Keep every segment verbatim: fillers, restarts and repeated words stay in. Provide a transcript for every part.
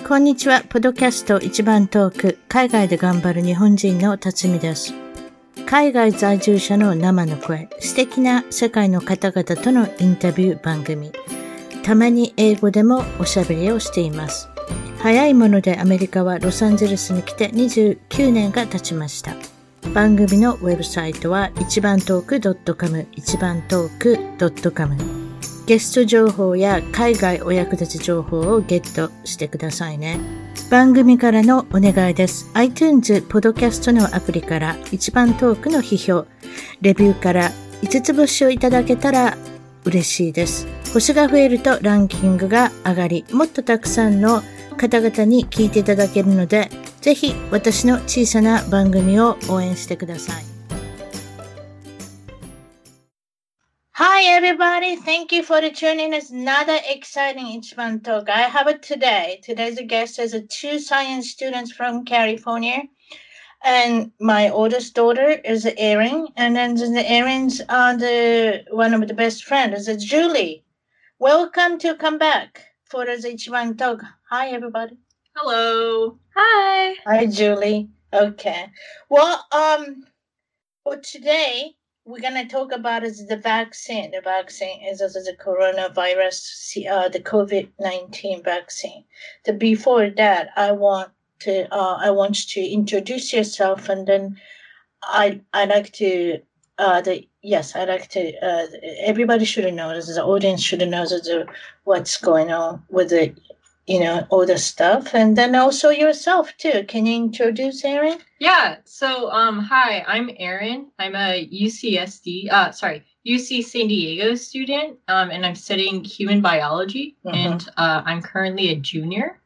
こんにちは。ポッドキャスト一番トーク、海外で頑張る日本人の辰巳です。海外在住者の生の声、素敵な世界の方々とのインタビュー番組。たまに英語でもおしゃべりをしています。早いものでアメリカはロサンゼルスに来てにじゅうきゅうねんが経ちました。番組のウェブサイトは一番トーク .com、一番トーク .com。ゲスト情報や海外お役立ち情報をゲットしてくださいね。番組からのお願いです。iTunes ポッドキャストのアプリから一番トークの批評、レビューからいつつ星をいただけたら嬉しいです。星が増えるとランキングが上がり、もっとたくさんの方々に聞いていただけるので、ぜひ私の小さな番組を応援してください。Hi everybody, thank you for tuning in. It's another exciting Ichiban Talk. I have it today. Today's guest is a two science students from California. And my oldest daughter is Erin. And then the Erin's uh, the one of the best friends is Julie. Welcome to come back for the Ichiban Talk. Hi everybody. Hello. Hi. Hi Julie. Okay. Well, um, for today, we're going to talk about is the vaccine. The vaccine is, is the coronavirus, uh, the COVID nineteen vaccine. The, before that, I want to uh, I want you to introduce yourself, and then I I like to uh the yes I like to uh everybody should know, the audience should know the, what's going on with the you know all the stuff, and then also yourself too. Can you introduce Erin? Yeah. So, um, hi, I'm Erin. I'm a U C S D, uh, sorry, U C San Diego student, um, and I'm studying human biology, mm-hmm. and uh, I'm currently a junior.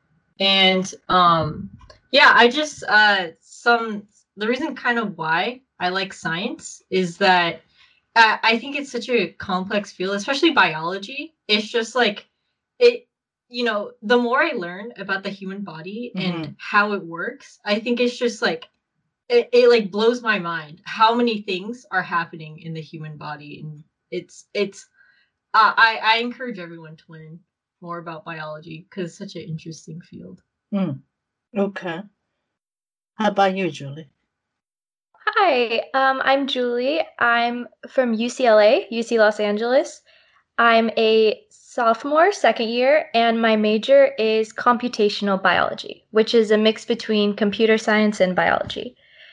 And um, yeah, I just uh, some the reason kind of why I like science is that uh, I think it's such a complex field, especially biology. It's just like it. You know, the more I learn about the human body and mm-hmm. how it works, I think it's just like, it, it like blows my mind how many things are happening in the human body. And it's, it's, uh, I, I encourage everyone to learn more about biology because it's such an interesting field. Mm. Okay. How about you, Julie? Hi, um, I'm Julie. I'm from U C L A, U C Los Angeles. I'm a sophomore, second year, and my major is computational biology, which is a mix between computer science and biology.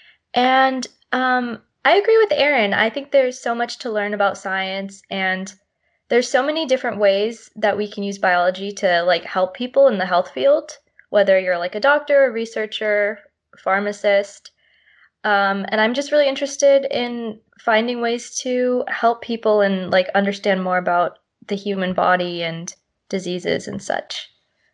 And um, I agree with Erin. I think there's so much to learn about science, and there's so many different ways that we can use biology to like help people in the health field, whether you're like a doctor, a researcher, a pharmacist. Um, and I'm just really interested in finding ways to help people and like understand more about the human body and diseases and such.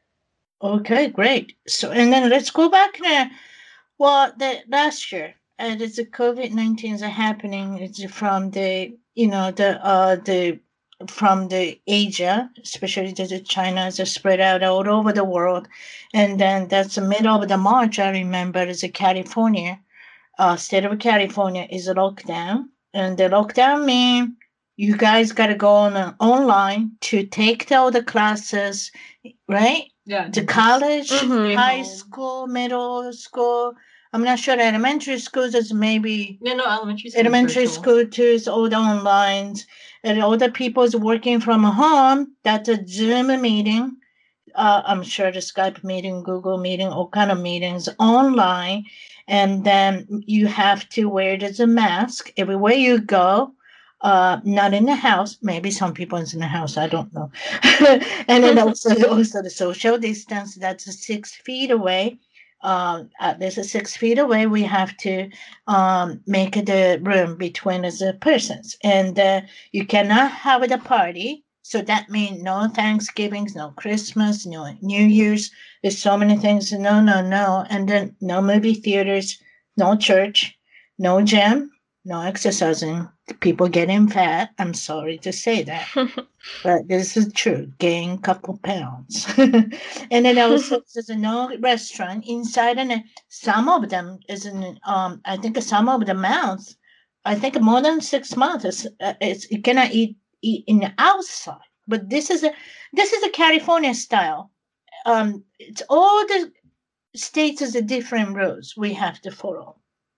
Okay, great. So, and then let's go back now. Well, the last year, and it's the COVID nineteen is happening. It's from the, you know, the, uh, the, from the Asia, especially the China, is spread out all over the world. And then that's the middle of the March, I remember, is California, uh, state of California is a lockdown. And the lockdown means you guys got to go on uh, online to take the, all the classes, right? Yeah. The college, mm-hmm. high school, middle school. I'm not sure. Elementary schools is maybe. No, no, elementary school. Elementary school too is all the online. And all the people is working from home. That's a Zoom meeting. Uh, I'm sure the Skype meeting, Google meeting, all kind of meetings online. And then you have to wear the mask everywhere you go. Uh, not in the house. Maybe some people is in the house. I don't know. And then also, also the social distance. That's six feet away. Uh, at least six feet away. We have to um, make the room between the persons. And uh, you cannot have the party. So that means no Thanksgivings, no Christmas, no New Year's. There's so many things. No, no, no. And then no movie theaters, no church, no gym, no exercising. People getting fat. I'm sorry to say that, but this is true. Gain a couple pounds. And then also there's no restaurant inside, and some of them is in. Um, I think some of the months. I think more than six months. It's, uh, it's you cannot eat eat in the outside. But this is a this is a California style. um, it's all the states has a different rules we have to follow.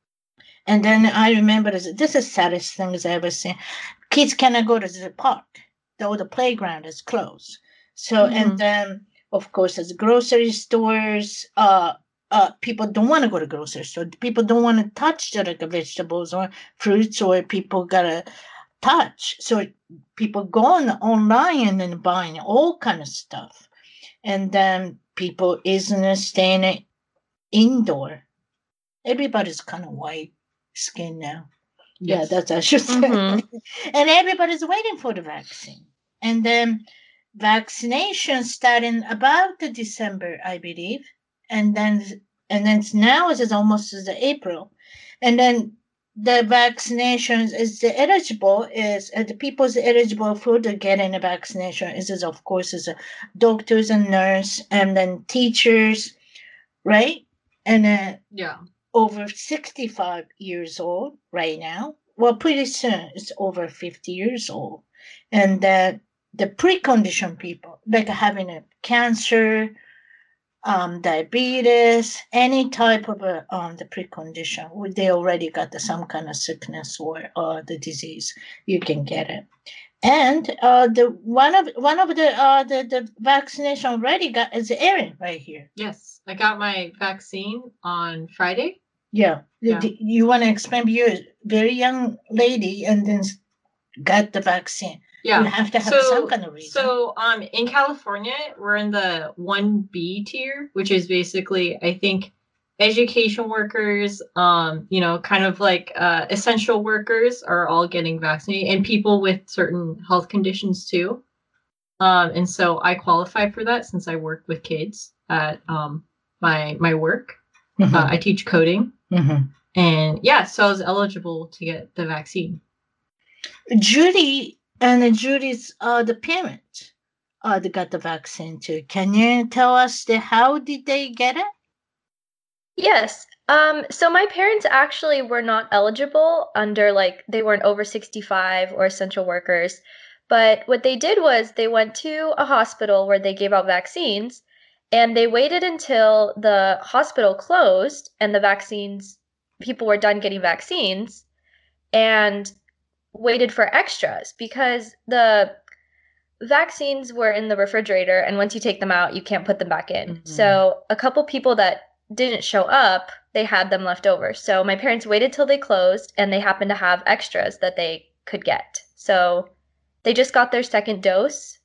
And then I remember this, this is the saddest thing I've ever seen. Kids cannot go to the park. Though the playground is closed. So, mm-hmm. and then, of course, as grocery stores, uh, uh, people don't want to go to grocery store. People don't want to touch the like, vegetables or fruits, or people got to touch. So people go on online and buying all kind of stuff. And then people isn't staying indoor. Everybody's kind of white skin now. Yes. Yeah, that's I should say. Mm-hmm. And everybody's waiting for the vaccine. And then vaccination starting about the December, I believe. And then and then now it is almost as April. And then the vaccinations is the eligible is uh, the people's eligible for the getting the vaccination is, is of course is uh, doctors and nurses and then teachers, right? And uh, yeah. over sixty-five years old right now. Well, pretty soon it's over fifty years old. And that the precondition people, like having a cancer, um, diabetes, any type of a, um, the precondition, they already got the, some kind of sickness or uh, the disease, you can get it. And uh, the one of one of the uh, the the vaccination already got is Erin right here. Yes, I got my vaccine on Friday. Yeah, yeah. You want to explain? You're a very young lady, and then got the vaccine. Yeah, you have to have so, some kind of reason. So, um, in California, we're in the one B tier, which is basically, I think, education workers, um, you know, kind of like uh, essential workers are all getting vaccinated, and people with certain health conditions too. Um, and so I qualify for that since I work with kids at um my my work. Mm-hmm. Uh, I teach coding, mm-hmm. and yeah, so I was eligible to get the vaccine. Judy and Judy's uh the parents uh they got the vaccine too. Can you tell us the how did they get it? Yes. Um, so my parents actually were not eligible under, like, they weren't over sixty-five or essential workers. But what they did was they went to a hospital where they gave out vaccines, and they waited until the hospital closed and the vaccines, people were done getting vaccines, and waited for extras because the vaccines were in the refrigerator, and once you take them out, you can't put them back in. Mm-hmm. So a couple people that didn't show up, they had them left over. So my parents waited till they closed, and they happened to have extras that they could get. So they just got their second dose,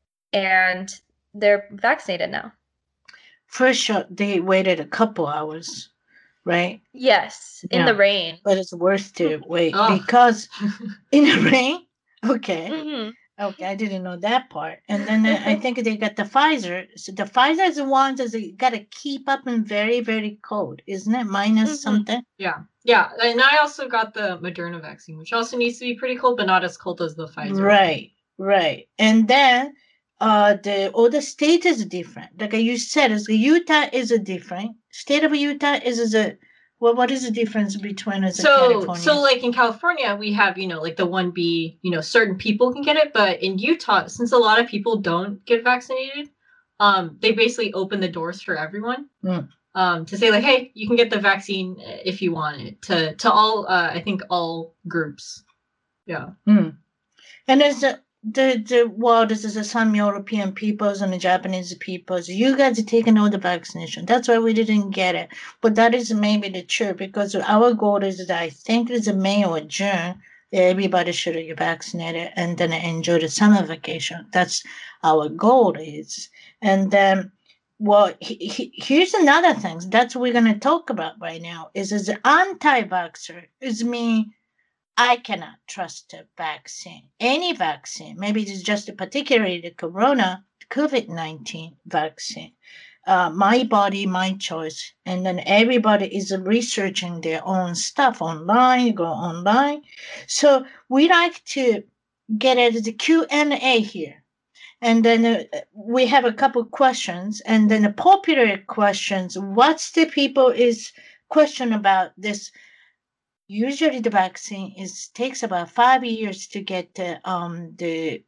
and they're vaccinated now. First shot, they waited a couple hours, right? Yes, in yeah. the rain. But it's worth to wait oh. because in the rain? Okay. Mm-hmm. Okay, I didn't know that part. And then uh, I think they got the Pfizer. So the Pfizer is the ones that you got to keep up in very, very cold, isn't it? Minus mm-hmm. something? Yeah. Yeah. And I also got the Moderna vaccine, which also needs to be pretty cold, but not as cold as the Pfizer. Right, right. And then uh, the other state is different. Like you said, is Utah is a different. State of Utah is, is a... Well, what is the difference between us so, and California? So, like in California, we have, you know, like the one B, you know, certain people can get it. But in Utah, since a lot of people don't get vaccinated, um, they basically open the doors for everyone mm. um, to say, like, hey, you can get the vaccine if you want it to to all, uh, I think, all groups. Yeah. Mm. And there's a, the, the, well, this is a, some European peoples and the Japanese peoples. You guys are taking all the vaccination. That's why we didn't get it. But that is maybe the truth because our goal is that I think it's in May or June. Everybody should get vaccinated and then enjoy the summer vacation. That's our goal is. And then, well, he, he, here's another thing. That's what we're going to talk about right now is as an anti-vaxxer is me. I cannot trust a vaccine, any vaccine. Maybe it's just particularly the corona, COVID nineteen vaccine. Uh, my body, my choice. And then everybody is researching their own stuff online, go online. So we like to get at the Q and A here. And then uh, we have a couple questions. And then the popular questions, what's the people is question about this? Usually the vaccine is takes about five years to get the um the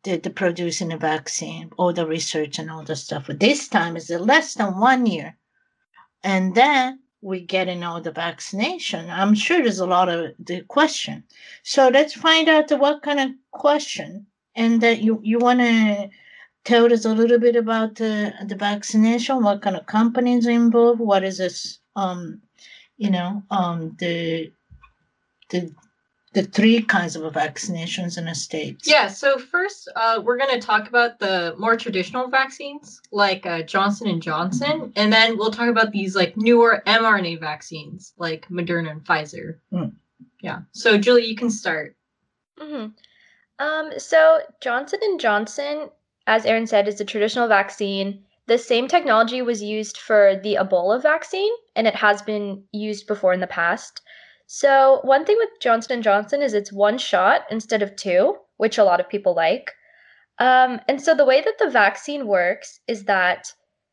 the, the producing a vaccine, all the research and all the stuff. But this time is less than one year. And then we get in all the vaccination. I'm sure there's a lot of the question. So let's find out what kind of question. And that you, you want to tell us a little bit about the, the vaccination, what kind of companies are involved, what is this, um, you know, um, the, the, the three kinds of vaccinations in the States. Yeah, so first uh, we're going to talk about the more traditional vaccines like uh, Johnson and Johnson, and then we'll talk about these like newer mRNA vaccines like Moderna and Pfizer. Mm. Yeah, so Julie, you can start. Mm-hmm. Um, so Johnson and Johnson, as Erin said, is a traditional vaccine. The same technology was used for the Ebola vaccine, and it has been used before in the past. So one thing with Johnson and Johnson is it's one shot instead of two, which a lot of people like. Um, and so the way that the vaccine works is that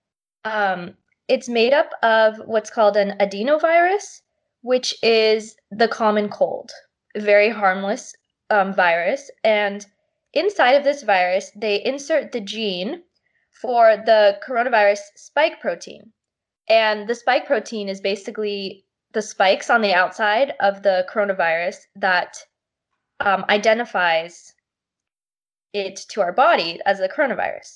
um, it's made up of what's called an adenovirus, which is the common cold, a very harmless um, virus. And inside of this virus, they insert the gene for the coronavirus spike protein. And the spike protein is basically the spikes on the outside of the coronavirus that um, identifies it to our body as a coronavirus.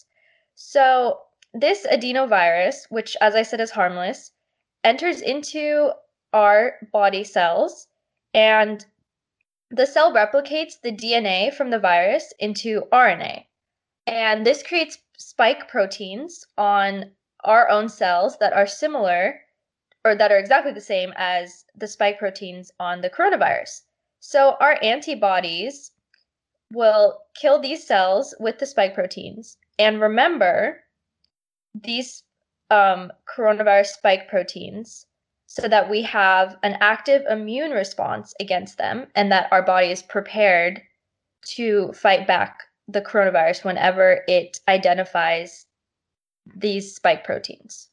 So this adenovirus, which as I said is harmless, enters into our body cells, and the cell replicates the D N A from the virus into R N A. And this creates spike proteins on our own cells that are similar or that are exactly the same as the spike proteins on the coronavirus. So our antibodies will kill these cells with the spike proteins. And remember, these um, coronavirus spike proteins so that we have an active immune response against them and that our body is prepared to fight back the coronavirus whenever it identifies these spike proteins.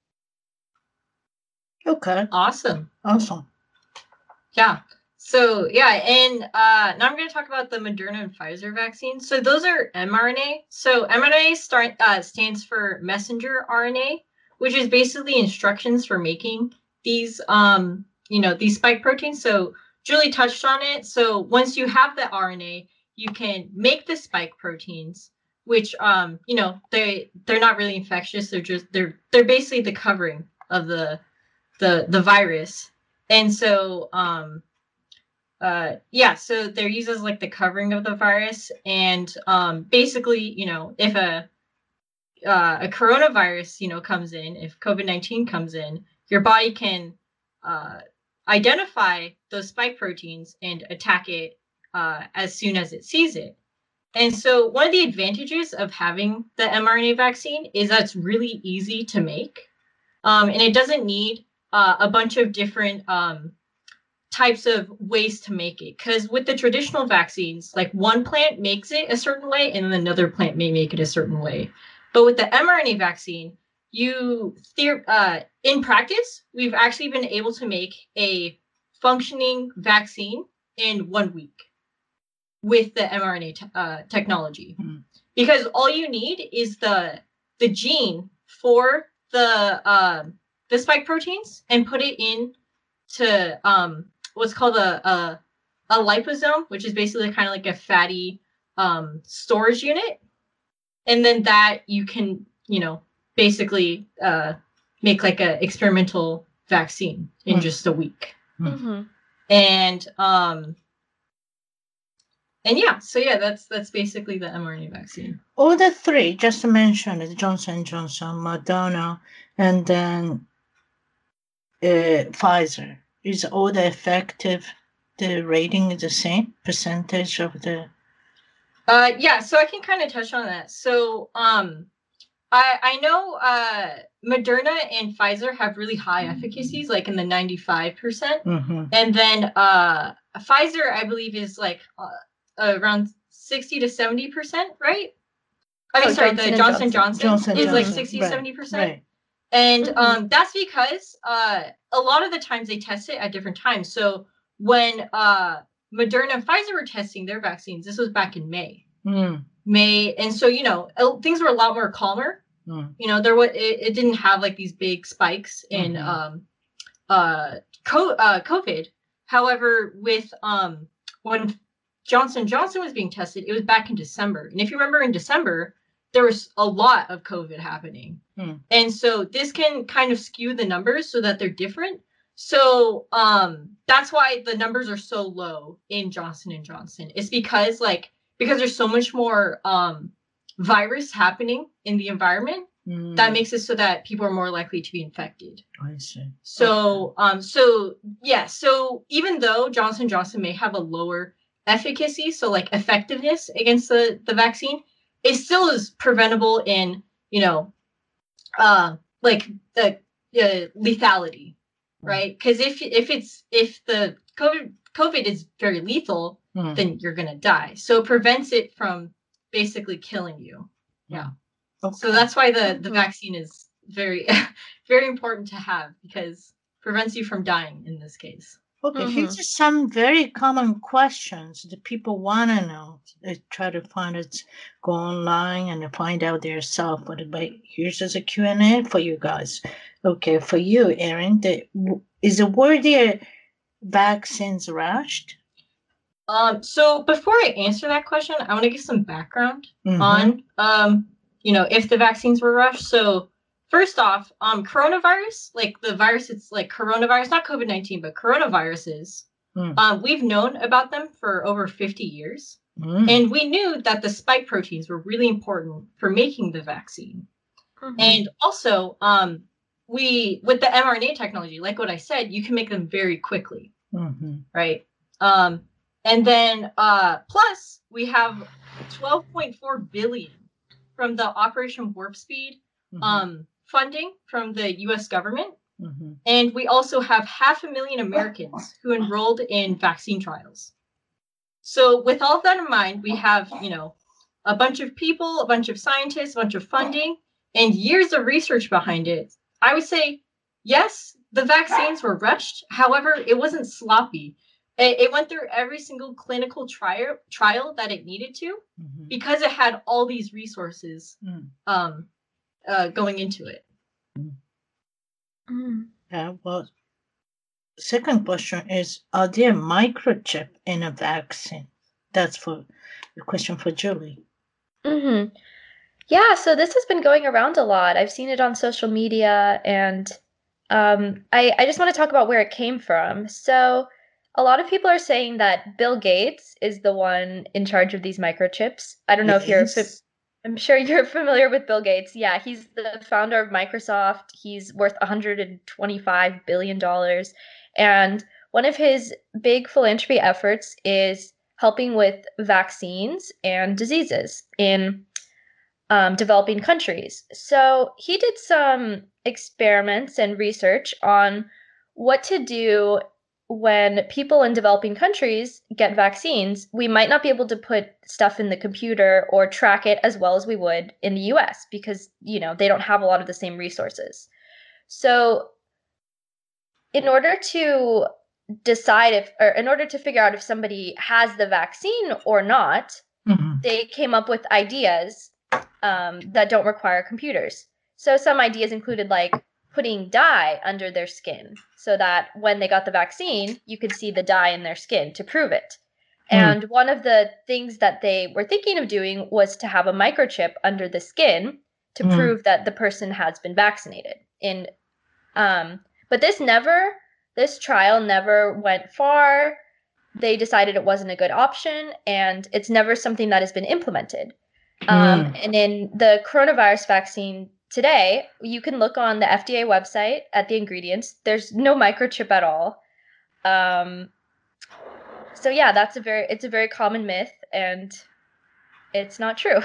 Okay. Awesome. Awesome. Yeah. So, yeah, and uh, now I'm going to talk about the Moderna and Pfizer vaccines. So those are mRNA. So mRNA start, uh, stands for messenger R N A, which is basically instructions for making these, um, you know, these spike proteins. So Julie touched on it. So once you have the R N A, you can make the spike proteins, which, um, you know, they they're not really infectious. They're just they're they're basically the covering of the the the virus. And so, um, uh, yeah, so they're used as like the covering of the virus. And um, basically, you know, if a uh, a coronavirus, you know, comes in, if COVID nineteen comes in, your body can uh, identify those spike proteins and attack it uh, as soon as it sees it. And so one of the advantages of having the mRNA vaccine is that it's really easy to make. Um, and it doesn't need uh, a bunch of different um, types of ways to make it. Because with the traditional vaccines, like one plant makes it a certain way and then another plant may make it a certain way. But with the mRNA vaccine, you theor- uh, in practice, we've actually been able to make a functioning vaccine in one week with the mRNA te- uh, technology. Mm-hmm. Because all you need is the the gene for the uh, the spike proteins and put it in to um, what's called a, a a liposome, which is basically kind of like a fatty um, storage unit. And then that you can, you know, basically uh, make like a experimental vaccine in mm-hmm. just a week. Mm-hmm. And um, and yeah, so yeah, that's that's basically the mRNA vaccine. All the three, just to mention it, Johnson and Johnson, Moderna, and then uh, Pfizer. Is all the effective, the rating is the same percentage of the? Uh, yeah, so I can kind of touch on that. So um, I I know uh, Moderna and Pfizer have really high efficacies, like in the ninety-five percent. Mm-hmm. And then uh, Pfizer, I believe, is like uh, around sixty to seventy percent, right? I mean, oh, sorry, Johnson the Johnson Johnson, Johnson is Johnson. like sixty, right. seventy percent. Right. And mm-hmm. um, that's because uh, a lot of the times they test it at different times. So when uh, Moderna and Pfizer were testing their vaccines, this was back in May. Mm. May, and so, you know, things were a lot more calmer. Mm. You know, there was, it, it didn't have like these big spikes in mm-hmm. um, uh, co- uh, COVID. However, with um, when Johnson and Johnson was being tested, it was back in December. And if you remember in December, there was a lot of COVID happening. Mm. And so this can kind of skew the numbers so that they're different. So um, that's why the numbers are so low in Johnson and Johnson. It's because like, because there's so much more um, virus happening in the environment mm. that makes it so that people are more likely to be infected. I see. So, okay. um, so yeah, so even though Johnson and Johnson may have a lower efficacy, so like effectiveness against the, the vaccine, it still is preventable in, you know, uh, like the uh, lethality, right? Because if if it's if the COVID COVID is very lethal, mm. then you're gonna die. So it prevents it from basically killing you. Yeah. Okay. So that's why the the mm-hmm. vaccine is very very important to have, because it prevents you from dying in this case. Okay, mm-hmm. here's just some very common questions that people want to know. They try to find it, go online and find out themselves. But here's just a Q and A for you guys. Okay, for you, Erin, the, is the word there vaccines rushed? Um, so before I answer that question, I want to give some background mm-hmm. on, um, you know, if the vaccines were rushed. So first off, um, coronavirus, like the virus, it's like coronavirus, not COVID nineteen, but coronaviruses. Mm. Um, we've known about them for over fifty years. Mm. And we knew that the spike proteins were really important for making the vaccine. Mm-hmm. And also, um, we, with the mRNA technology, like what I said, you can make them very quickly, mm-hmm. right? Um, and then, uh, plus, we have twelve point four billion from the Operation Warp Speed, mm-hmm. um, funding from the U S government. Mm-hmm. And we also have half a million Americans who enrolled in vaccine trials. So with all of that in mind, we have, you know, a bunch of people, a bunch of scientists, a bunch of funding, and years of research behind it. I would say, yes, the vaccines were rushed. However, it wasn't sloppy. It, it went through every single clinical trial trial that it needed to, mm-hmm. because it had all these resources mm. um, uh, going into it. Mm. Yeah, well, second question is, are there microchip in a vaccine? That's for the question for Julie. Mm-hmm. Yeah, so this has been going around a lot. I've seen it on social media, and um, I, I just want to talk about where it came from. So a lot of people are saying that Bill Gates is the one in charge of these microchips. I don't know yes. if you're... Fi- I'm sure you're familiar with Bill Gates. Yeah, he's the founder of Microsoft. He's worth one hundred twenty-five billion dollars. And one of his big philanthropy efforts is helping with vaccines and diseases in um, developing countries. So he did some experiments and research on what to do when people in developing countries get vaccines. We might not be able to put stuff in the computer or track it as well as we would in the U S because, you know, they don't have a lot of the same resources. So in order to decide if, or in order to figure out if somebody has the vaccine or not, mm-hmm. they came up with ideas um, that don't require computers. So some ideas included like putting dye under their skin so that when they got the vaccine, you could see the dye in their skin to prove it. Mm. And one of the things that they were thinking of doing was to have a microchip under the skin to mm. prove that the person has been vaccinated. In, um, but this never, this trial never went far. They decided it wasn't a good option, and it's never something that has been implemented. Mm. Um, and in the coronavirus vaccine today, you can look on the F D A website at the ingredients. There's no microchip at all. Um, so yeah, that's a very it's a very common myth, and it's not true.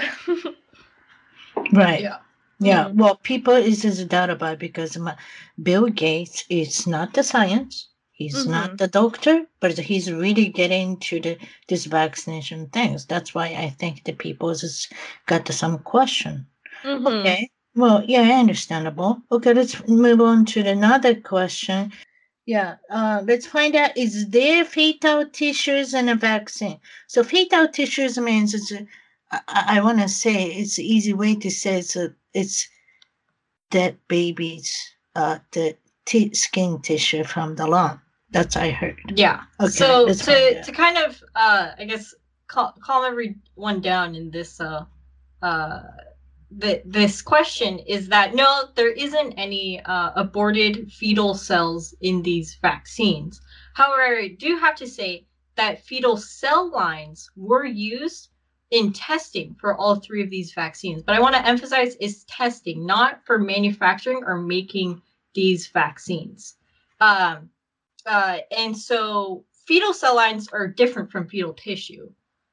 Right. Yeah. Yeah. Mm-hmm. Well, people is just doubt about it because my, Bill Gates is not the science. He's mm-hmm. not the doctor, but he's really getting to the this vaccination things. That's why I think the people just got some question. Mm-hmm. Okay. Well, yeah, understandable. Okay, let's move on to another question. Yeah, uh, let's find out, is there fetal tissues in a vaccine? So fetal tissues means it's I, I want to say it's an easy way to say it's a, it's dead babies, uh, the t- skin tissue from the lung. That's I heard. Yeah. Okay, So that's to fine, yeah. to kind of uh, I guess cal- calm everyone down in this uh uh the, this question is that no, there isn't any uh, aborted fetal cells in these vaccines. However, I do have to say that fetal cell lines were used in testing for all three of these vaccines. But I want to emphasize is testing, not for manufacturing or making these vaccines. Um, uh, and so fetal cell lines are different from fetal tissue.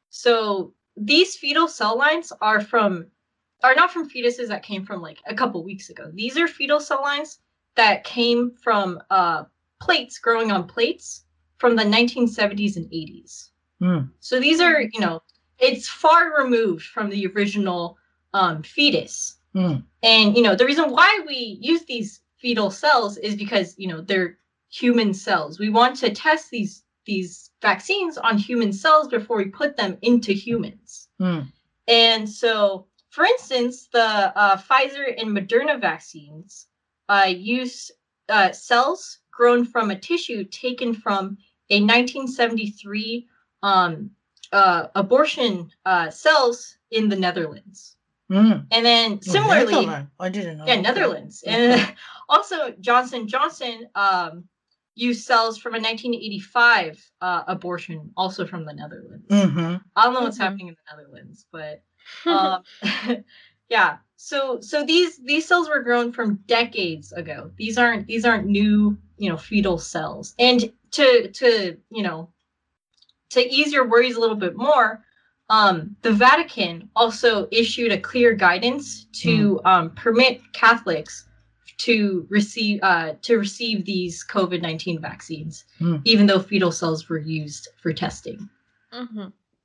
So these fetal cell lines are from are not from fetuses that came from like a couple weeks ago. These are fetal cell lines that came from uh, plates growing on plates from the nineteen seventies and eighties. Mm. So these are, you know, it's far removed from the original um, fetus. Mm. And, you know, the reason why we use these fetal cells is because, you know, they're human cells. We want to test these these vaccines on human cells before we put them into humans. Mm. And so, for instance, the uh, Pfizer and Moderna vaccines uh, use uh, cells grown from a tissue taken from a nineteen seventy-three um, uh, abortion uh, cells in the Netherlands. Mm. And then Oh, similarly, Netherlands. I didn't know. yeah, Okay. Netherlands. Okay. And also Johnson Johnson um, used cells from a nineteen eighty-five uh, abortion, also from the Netherlands. Mm-hmm. I don't know what's Mhm. happening in the Netherlands, but um, yeah. So so these these cells were grown from decades ago. These aren't these aren't new, you know, fetal cells. And to to you know to ease your worries a little bit more, um, the Vatican also issued a clear guidance to um, permit Catholics to receive uh, to receive these COVID nineteen vaccines, Mm. even though fetal cells were used for testing. hmm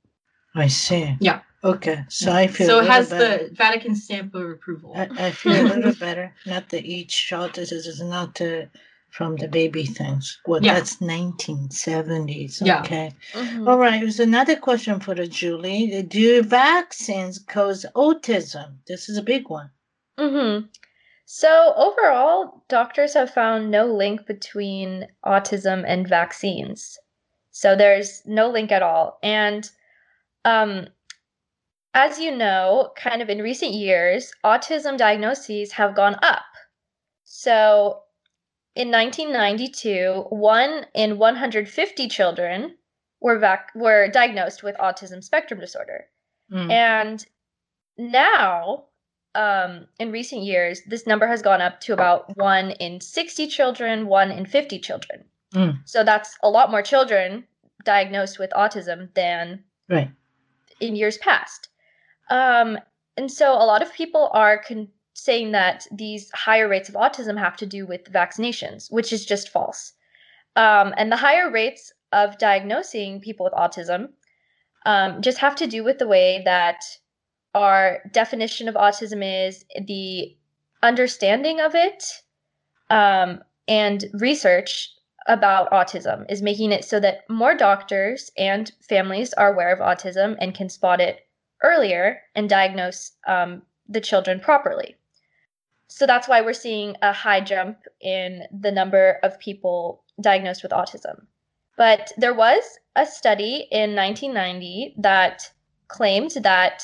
I see. Yeah. Okay. So I feel So a it little has better. the Vatican stamp of approval. I, I feel a little better. Not that each shot this is not uh, from the baby things. Well, Yeah. that's nineteen seventies. Yeah. Okay. hmm All right. There's another question for the Julie. Do vaccines cause autism? This is a big one. hmm So overall, doctors have found no link between autism and vaccines. So there's no link at all. And um, as you know, kind of in recent years, autism diagnoses have gone up. So in nineteen ninety-two, one in one hundred fifty children were vac- were diagnosed with autism spectrum disorder. Mm. And now, um, in recent years, this number has gone up to about one in sixty children, one in fifty children. Mm. So that's a lot more children diagnosed with autism than Right. in years past. Um, and so a lot of people are con- saying that these higher rates of autism have to do with vaccinations, which is just false. Um, and the higher rates of diagnosing people with autism um, just have to do with the way that our definition of autism is, the understanding of it, um, and research about autism is making it so that more doctors and families are aware of autism and can spot it earlier and diagnose um, the children properly. So that's why we're seeing a high jump in the number of people diagnosed with autism. But there was a study in nineteen ninety that claimed that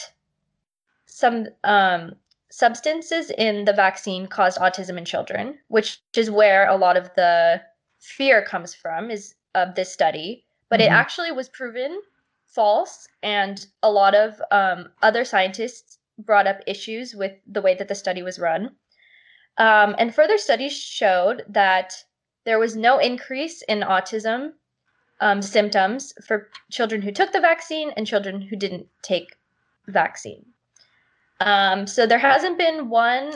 some um, substances in the vaccine caused autism in children, which is where a lot of the fear comes from, is of this study. But Mhm. it actually was proven false, and a lot of um, other scientists brought up issues with the way that the study was run. Um, and further studies showed that there was no increase in autism um, symptoms for children who took the vaccine and children who didn't take the vaccine. Um, so there hasn't been one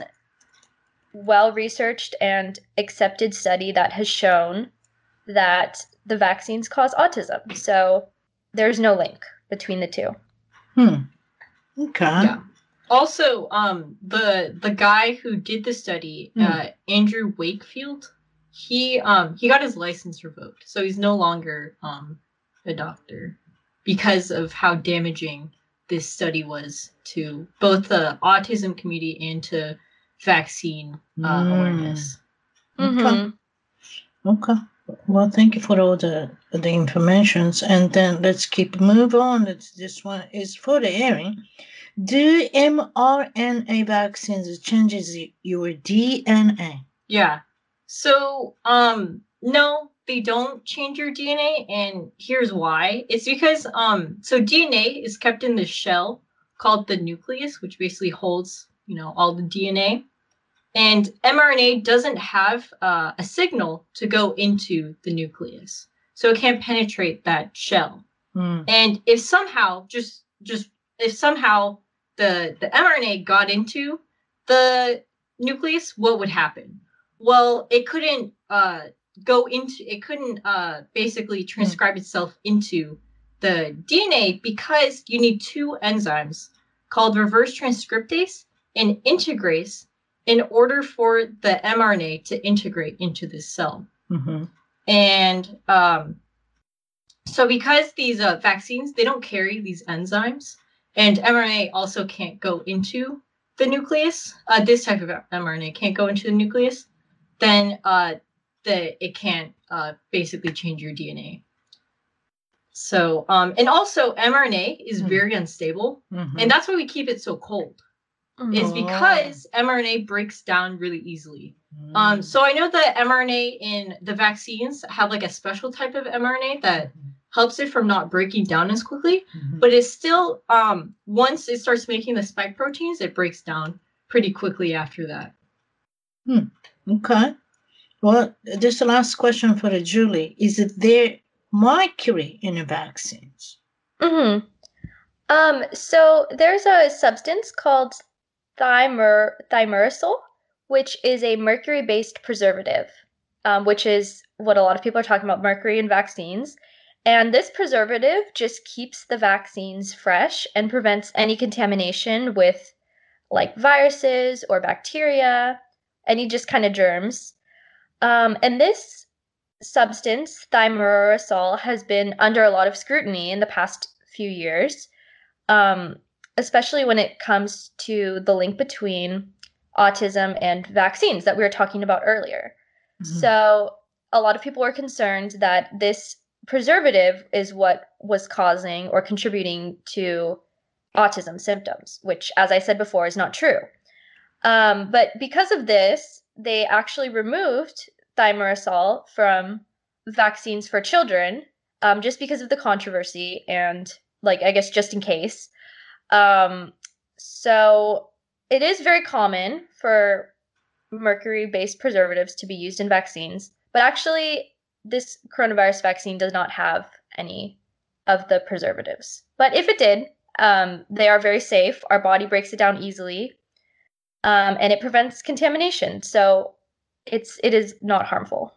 well-researched and accepted study that has shown that the vaccines cause autism. So there's no link between the two. Hmm. Okay. Yeah. Also, um, the the guy who did the study, Hmm. uh, Andrew Wakefield, he um he got his license revoked, so he's no longer um a doctor because of how damaging this study was to both the autism community and to vaccine uh, Mm. awareness. Okay. Mhm. Okay. Well, thank you for all the the informations, and then let's keep move on. Let's, this one is for the Erin. Do mRNA vaccines changes y- your D N A? Yeah. So, um, no, they don't change your D N A, and here's why. It's because um, so D N A is kept in this shell called the nucleus, which basically holds, you know, all the D N A. And mRNA doesn't have uh, a signal to go into the nucleus, so it can't penetrate that shell. Mm. And if somehow, just just if somehow the the mRNA got into the nucleus, what would happen? Well, it couldn't uh, go into it couldn't uh, basically transcribe itself into the D N A because you need two enzymes called reverse transcriptase and integrase in order for the mRNA to integrate into this cell. Mm-hmm. And um, so because these uh, vaccines, they don't carry these enzymes, and mRNA also can't go into the nucleus, uh, this type of mRNA can't go into the nucleus, then uh, the, it can't uh, basically change your D N A. So, um, and also mRNA is Mhm. very unstable, Mm-hmm. and that's why we keep it so cold. Is Oh. because mRNA breaks down really easily. Um, so I know that mRNA in the vaccines have like a special type of mRNA that helps it from not breaking down as quickly, Mhm. but it's still um, once it starts making the spike proteins, it breaks down pretty quickly after that. Okay. Well, this is the last question for the Julie. Is it there mercury in the vaccines? Mhm. Um, so there's a substance called thimer thimerosal, which is a mercury-based preservative, um, which is what a lot of people are talking about, mercury in vaccines. And this preservative just keeps the vaccines fresh and prevents any contamination with like viruses or bacteria, any just kind of germs. Um, and this substance, thimerosal, has been under a lot of scrutiny in the past few years, um, especially when it comes to the link between autism and vaccines that we were talking about earlier. Mhm. So a lot of people were concerned that this preservative is what was causing or contributing to autism symptoms, which, as I said before, is not true. Um, but because of this, they actually removed thimerosal from vaccines for children, um, just because of the controversy and, like, I guess just in case. Um, so it is very common for mercury-based preservatives to be used in vaccines, but actually this coronavirus vaccine does not have any of the preservatives. But if it did, um, they are very safe. Our body breaks it down easily, um, and it prevents contamination. So it's it is not harmful.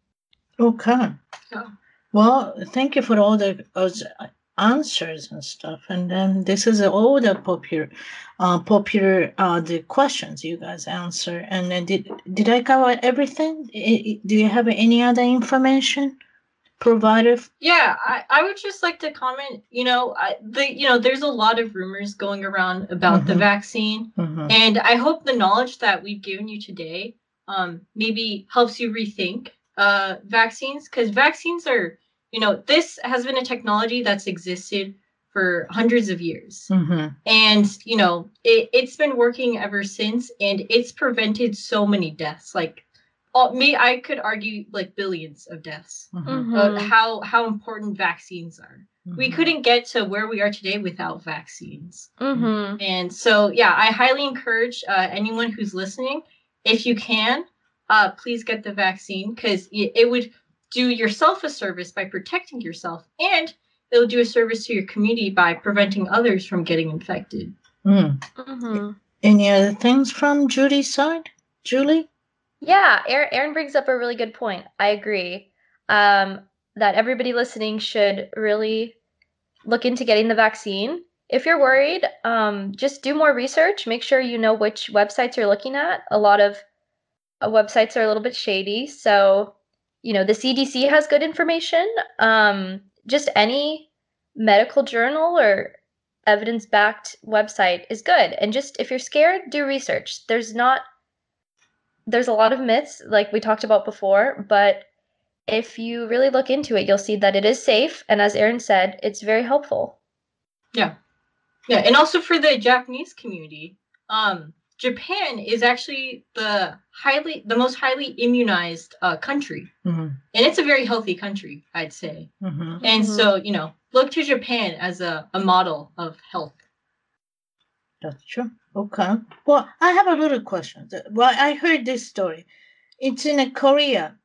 Okay. Yeah. Well, thank you for all the those answers and stuff. And then this is all the popular, uh, popular uh, the questions you guys answer. And then did did I cover everything? I- I- Do you have any other information provided? Yeah, I, I would just like to comment, you know, I, the you know, there's a lot of rumors going around about the Mhm. vaccine, Mhm. and I hope the knowledge that we've given you today um, maybe helps you rethink uh, vaccines, because vaccines are, you know, this has been a technology that's existed for hundreds of years. Mhm. And, you know, it, it's been working ever since, and it's prevented so many deaths. Like, all, me, I could argue like billions of deaths. Mhm. Uh, Mhm. how how important vaccines are. We Mhm. couldn't get to where we are today without vaccines. Mhm. And so, yeah, I highly encourage uh, anyone who's listening, if you can, uh, please get the vaccine, because it, it would do yourself a service by protecting yourself, and it'll do a service to your community by preventing others from getting infected. Mm. Mhm. Any other things from Judy's side? Julie? Yeah, Aaron, Aaron brings up a really good point. I agree. Um, that everybody listening should really look into getting the vaccine. If you're worried, um, just do more research. Make sure you know which websites you're looking at. A lot of uh, websites are a little bit shady. So, you know, the C D C has good information. Um, just any medical journal or evidence-backed website is good. And just if you're scared, do research. There's not there's a lot of myths like we talked about before, but if you really look into it, you'll see that it is safe, and as Erin said, it's very helpful. Yeah. Yeah, and also for the Japanese community, um Japan is actually the highly the most highly immunized uh, country. Mm-hmm. And it's a very healthy country, I'd say. Mm-hmm. And Mhm. so, you know, look to Japan as a, a model of health. That's true. Okay. Well, I have a little question. The- Well, I heard this story. It's in Korea.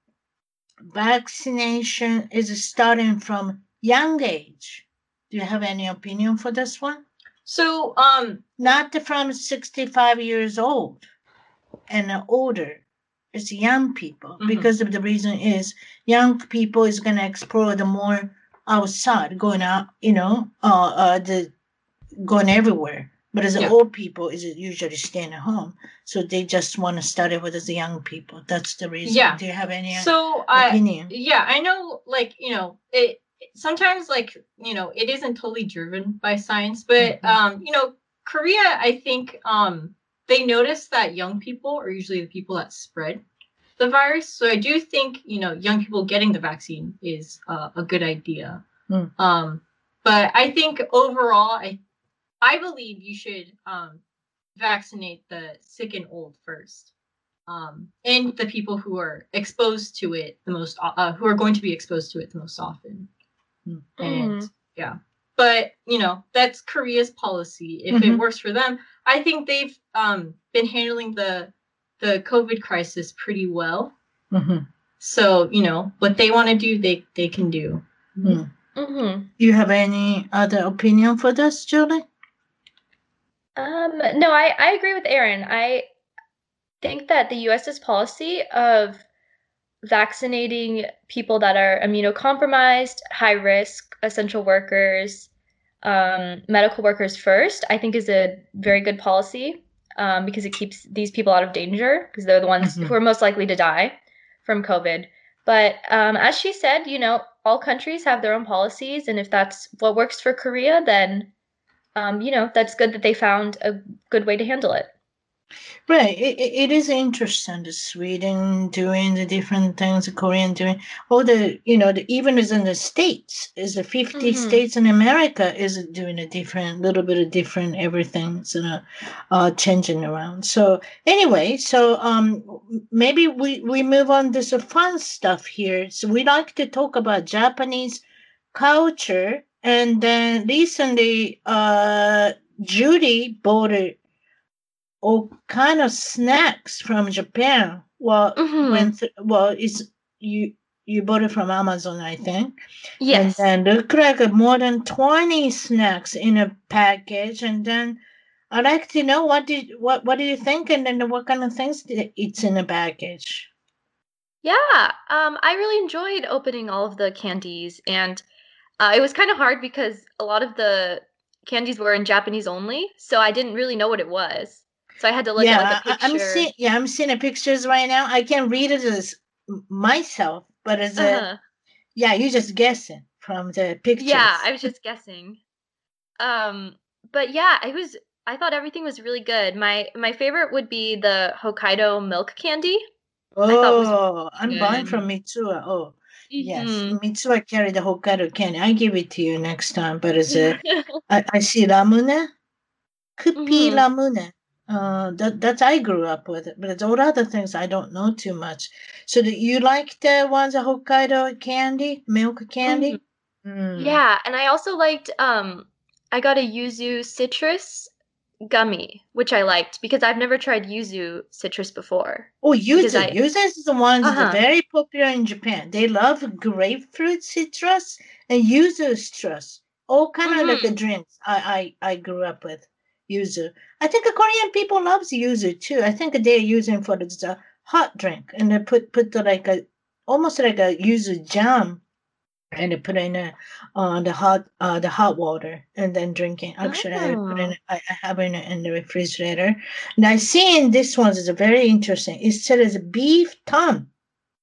Vaccination is starting from young age. Do you have any opinion for this one? So, um, Not from sixty-five years old and older. It's young people. Mhm. Because of the reason is young people is going to explore the more outside, going out, you know, uh, uh, the going everywhere. But as Yeah. old people is usually staying at home, so they just want to study with the young people. That's the reason. Yeah. Do you have any so I opinion? yeah, I know, like, you know, it sometimes, like, you know, it isn't totally driven by science, but Mhm. um, you know, Korea, I think um they notice that young people are usually the people that spread the virus. So I do think, you know, young people getting the vaccine is uh, a good idea. Mm. Um, but I think overall, I I believe you should um, vaccinate the sick and old first, um, and the people who are exposed to it the most, uh, who are going to be exposed to it the most often. Mm. And Mhm. yeah, but you know, that's Korea's policy. If Mhm. it works for them, I think they've um, been handling the the COVID crisis pretty well. Mhm. So you know, what they want to do, they they can do. Mm. Mhm. You have any other opinion for this, Julie? Um, no, I, I agree with Erin. I think that the US's policy of vaccinating people that are immunocompromised, high risk, essential workers, um, medical workers first, I think is a very good policy um, because it keeps these people out of danger because they're the ones Mhm. who are most likely to die from COVID. But um, as she said, you know, all countries have their own policies, and if that's what works for Korea, then um, you know, that's good that they found a good way to handle it. Right. It, it it is interesting. The Sweden doing the different things, the Korean doing all the, you know, the, even as in the States, is the fifty Mhm. states in America is doing a different, little bit of different everything's uh, uh, changing around. So anyway, so um, maybe we, we move on to some fun stuff here. So we like to talk about Japanese culture. And then recently, uh, Judy bought a all kind of snacks from Japan. Well, Mhm. went th- well, it's you you bought it from Amazon, I think, and Yes. then look like a more than twenty snacks in a package. And then I'd like to know what did what what do you think, and then what kind of things did it's in a package. Yeah. Um, I really enjoyed opening all of the candies, and uh, it was kind of hard because a lot of the candies were in Japanese only, so I didn't really know what it was. So I had to look at like Yeah, a I, I- I'm picture. seeing. Yeah, I'm seeing the pictures right now. I can read it as m- myself, but as a Uh-huh. yeah, you're just guessing from the pictures. Yeah, I was just guessing. Um, but yeah, it was I thought everything was really good. My my favorite would be the Hokkaido milk candy. I thought was Oh, I'm buying good. from Mitsuya. Oh, yes. Mhm. Mitsuya carry the Hokkaido candy. I give it to you next time. But as a, I, I see Ramune, Kupi Mhm. Ramune. Uh, that that's I grew up with it. But it's all other things I don't know too much. So do you like the ones the Hokkaido candy, milk candy? Mm. Yeah, and I also liked um I got a yuzu citrus gummy, which I liked because I've never tried yuzu citrus before. Oh, Because yuzu. I Yuzu is the ones that are Uh-huh. very popular in Japan. They love grapefruit citrus and yuzu citrus. All kind of like a Mhm. drinks I, I, I grew up with. Yuzu. I think the Korean people loves yuzu too. I think they're using for this uh, hot drink and they put put the, like a almost like a yuzu jam and they put in a, uh, the hot uh, the hot water and then drinking. Actually, I put in Oh. I, I have it in the refrigerator. And I see in this one is very interesting. It says beef tongue,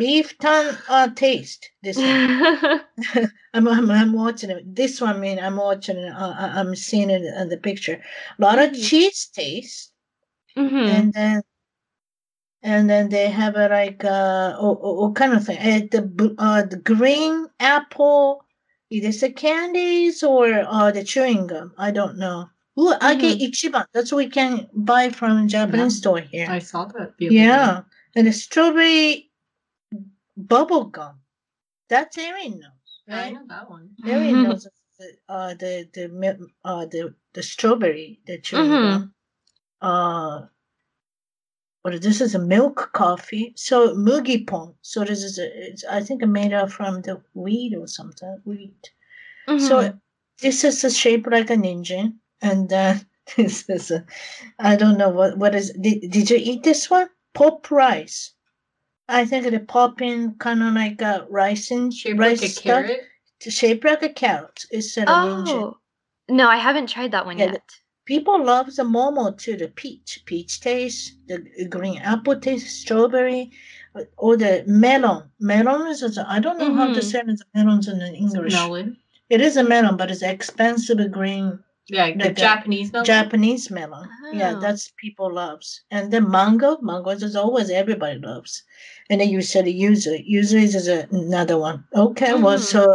beef tongue uh, taste. This one. I'm, I'm I'm watching it. This one, I mean, I'm watching it. Uh, I- I'm seeing it in the picture. A lot of Mhm. cheese taste, Mhm. and then and then they have a like uh oh, oh, oh, kind of thing. Uh, the b- uh the green apple. Is this the candies or uh the chewing gum? I don't know. Ooh, I get Mhm. Ichiban. That's what we can buy from Japanese Yeah. store here. I saw that the other Yeah, and the strawberry bubble gum. That's Erin knows, day. I right? know that one. Erin knows the uh the the mil- uh the the strawberry the chewing Mhm. gum. Uh, but this is a milk coffee. So mugipon. So this is a, it's I think made out from the wheat or something wheat. So Mhm. this is a shape like an engine, and then this is a I don't know what what is. Did, did you eat this one? Pop rice. I think the popping kind of like a rice and Shaped rice like a stuff. carrot. Shaped like a carrot. It's an engine. Oh. No, I haven't tried that one Yeah, the- yet. People love the momo too. The peach, peach taste, the green apple taste, strawberry, uh, or the melon. Melon is is- I don't know how to Mhm. say the melons in English. Melon. It is a melon, but it's expensive green Yeah, the Like a Japanese melon. Japanese melon. Yeah, Oh. that's people loves. And then mango, mangoes is always everybody loves. And then you said yuzu. Yuzu is a- another one. Okay, well, Mhm. so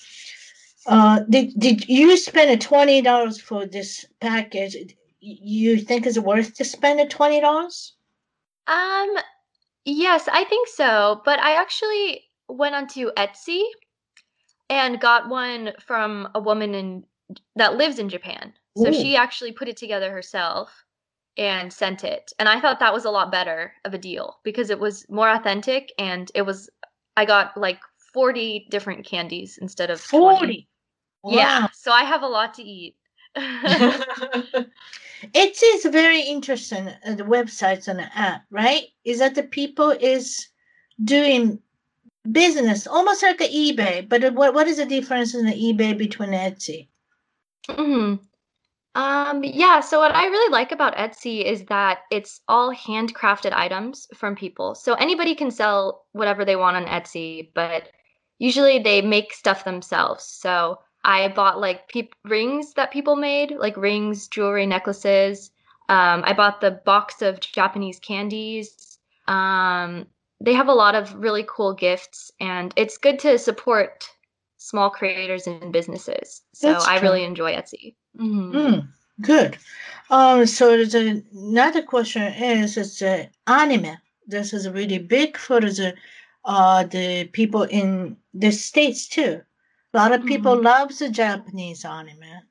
uh, did did you spend twenty dollars for this package? You think it's worth to spend the twenty dollars? Um, yes, I think so. But I actually went onto Etsy and got one from a woman in that lives in Japan. So Ooh. she actually put it together herself and sent it. And I thought that was a lot better of a deal because it was more authentic and it was I got like forty different candies instead of twenty. Forty. Yeah, Wow. so I have a lot to eat. It is very interesting. Uh, the websites and the app, right? Is that the people is doing business almost like an eBay, but it- what what is the difference in the eBay between Etsy? Mhm. Um, yeah, so what I really like about Etsy is that it's all handcrafted items from people. So anybody can sell whatever they want on Etsy, but usually they make stuff themselves. So I bought like peop rings that people made, like rings, jewelry, necklaces. Um, I bought the box of Japanese candies. Um, they have a lot of really cool gifts, and it's good to support small creators and businesses. So That's I true. really enjoy Etsy. Mhm. Mm, good. Um, so there's a- another question is it's uh, anime. This is really big for the uh the people in the states too. A lot of people Mhm. love the Japanese anime.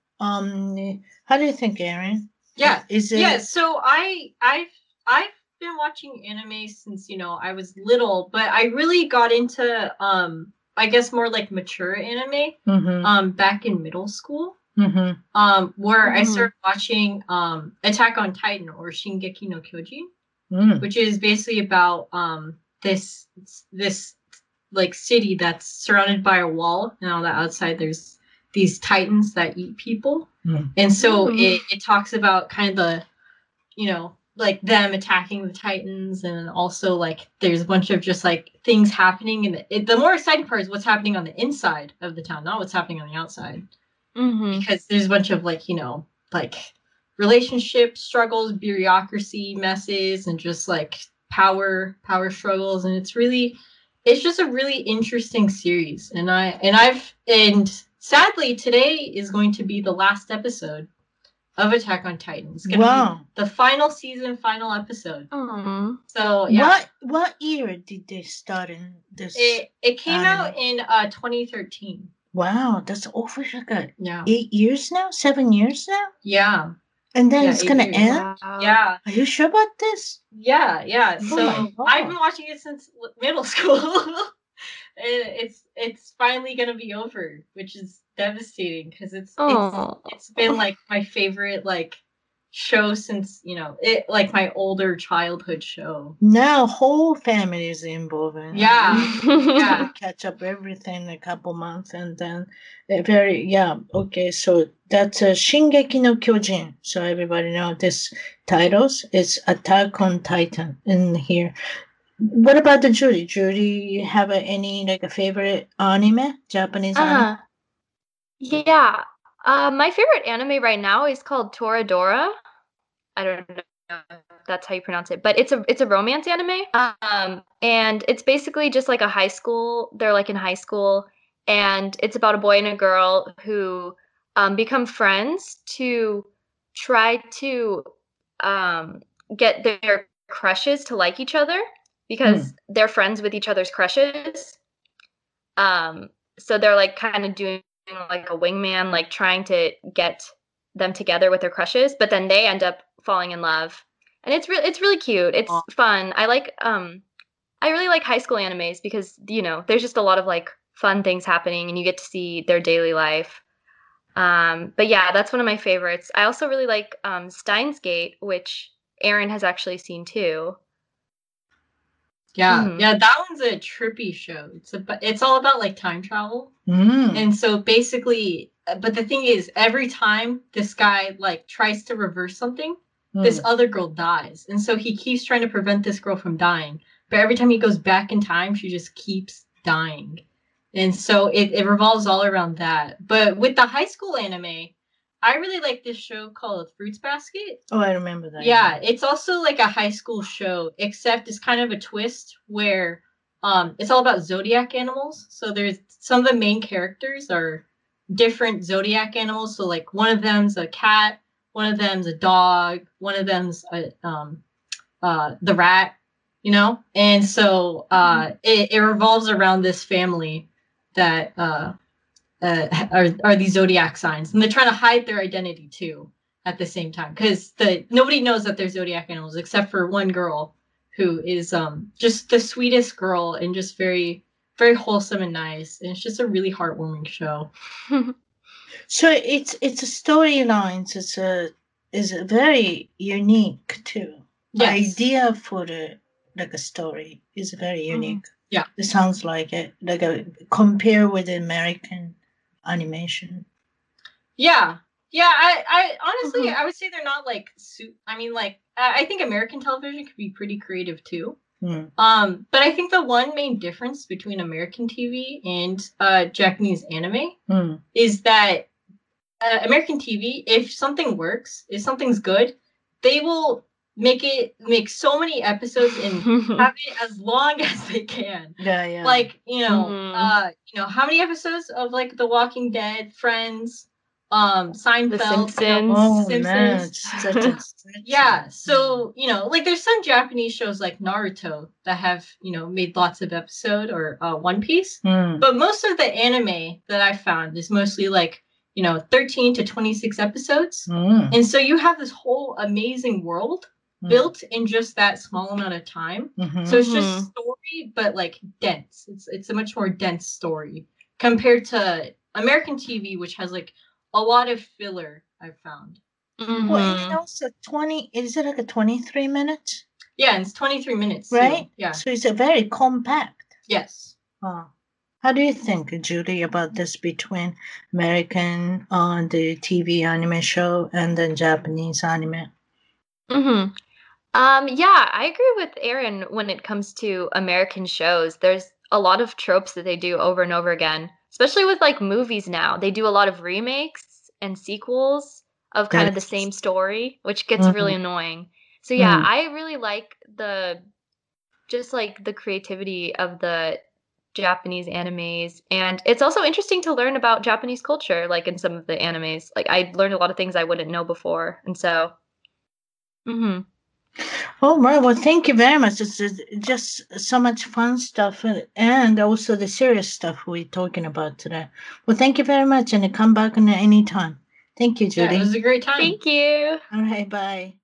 Um, how do you think, Aaron? Yeah. Is it? Yeah, so I I've I've been watching anime since, you know, I was little, but I really got into um I guess more like mature anime Mm-hmm. um back in middle school. Mm-hmm. Um where I Mhm. started watching um Attack on Titan or Shingeki no Kyojin, Mm. which is basically about um this this like city that's surrounded by a wall, and on the outside there's these titans that eat people. Mm. And so Mm. it, it talks about kind of the, you know, like them attacking the titans, and also like there's a bunch of just like things happening. And the, it, the more exciting part is what's happening on the inside of the town, not what's happening on the outside, Mhm. because there's a bunch of like, you know, like relationship struggles, bureaucracy messes, and just like power power struggles. And it's really it's just a really interesting series. And I and I've and sadly today is going to be the last episode of Attack on Titan. It's gonna Wow. be the final season, final episode. Aw. So yeah, What what year did they start in this? it it came Anime. out in uh twenty thirteen. Wow, that's over like a Yeah, eight years now, seven years now, yeah, and then Yeah, it's eight gonna years. end. Wow. yeah, Are you sure about this? yeah, yeah. Oh So my God. I've been watching it since l- middle school. It- it's it's finally gonna be over, which is devastating because it's it's Aw. it's been like my favorite like show since, you know, it like my older childhood show. Now whole family is involved in it. Yeah, yeah. Catch up everything in a couple months, and then uh, very yeah. Okay, so that's uh, Shingeki no Kyojin. So everybody know this titles. It's Attack on Titan in here. What about the Judy? Judy, you have a, any like a favorite anime, Japanese anime? Uh, yeah. Uh, my favorite anime right now is called Toradora. I don't know if that's how you pronounce it, but it's a it's a romance anime. Um, and it's basically just like a high school. They're like in high school, and it's about a boy and a girl who um, become friends to try to um, get their crushes to like each other because they're friends with each other's crushes. Um, so they're like kind of doing like a wingman, like trying to get them together with their crushes, but then they end up falling in love. And it's really it's really cute. It's fun. I like um I really like high school animes because, you know, there's just a lot of like fun things happening and you get to see their daily life. Um, but yeah, that's one of my favorites. I also really like um, Steins Gate, which Aaron has actually seen too. Yeah, Mhm. yeah, that one's a trippy show. It's a, it's all about like time travel, Mm. and so basically, but the thing is, every time this guy like tries to reverse something, Mm. this other girl dies, and so he keeps trying to prevent this girl from dying. But every time he goes back in time, she just keeps dying, and so it it revolves all around that. But with the high school anime, I really like this show called Fruits Basket. Oh, I remember that. Yeah, it's also like a high school show, except it's kind of a twist where um it's all about zodiac animals. So there's some of the main characters are different zodiac animals. So like one of them's a cat, one of them's a dog, one of them's a um uh the rat, you know? And so uh it, it revolves around this family that uh uh, are are these zodiac signs, and they're trying to hide their identity too at the same time because the nobody knows that they're zodiac animals except for one girl who is um just the sweetest girl and just very very wholesome and nice, and it's just a really heartwarming show. So it's it's a storylines. It's a is a very unique too. Yes. Idea for the like a story is very unique. Mm-hmm. Yeah, it sounds like it. Like a compare with American animation. Yeah, yeah. I, I honestly, mm-hmm. I would say they're not like. Su- I mean, like, I think American television could be pretty creative too. Mm. Um, but I think the one main difference between American T V and uh, Japanese anime mm. is that uh, American T V, if something works, if something's good, they will make it make so many episodes and have it as long as they can. Yeah, yeah. Like, you know, mm-hmm. uh, you know, how many episodes of like The Walking Dead, Friends, um, Seinfeld, The Simpsons. You know, oh, Simpsons. Yeah. So, you know, like there's some Japanese shows like Naruto that have, you know, made lots of episodes, or uh, One Piece. Mm. But most of the anime that I found is mostly like, you know, thirteen to twenty-six episodes. Mm. And so you have this whole amazing world mm. built in just that small amount of time. Mm-hmm. So it's just story, but like dense. It's it's a much more dense story compared to American T V, which has like a lot of filler, I've found. Mm-hmm. Well, and also twenty, is it like a twenty-three minutes? Yeah, and it's twenty-three minutes. Right? Too. Yeah. So it's a very compact. Yes. Oh. How do you think, Julie, about this between American on uh, the T V anime show and then Japanese anime? Mm-hmm. Um, yeah, I agree with Aaron when it comes to American shows. There's a lot of tropes that they do over and over again, especially with like movies now. They do a lot of remakes and sequels of kind That's... of the same story, which gets mm-hmm. really annoying. So yeah, mm. I really like the just like the creativity of the Japanese animes, and it's also interesting to learn about Japanese culture, like in some of the animes. Like I learned a lot of things I wouldn't know before, and so. Mm-hmm. Oh, right. Well, thank you very much. It's just so much fun stuff, and also the serious stuff we're talking about today. Well, thank you very much, and come back any time. Thank you, Judy. Yeah, it was a great time. Thank you. All right, bye.